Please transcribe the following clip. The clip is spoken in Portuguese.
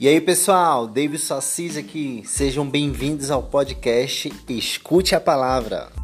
E aí pessoal, Davidson Assis aqui, sejam bem-vindos ao podcast Escute a Palavra.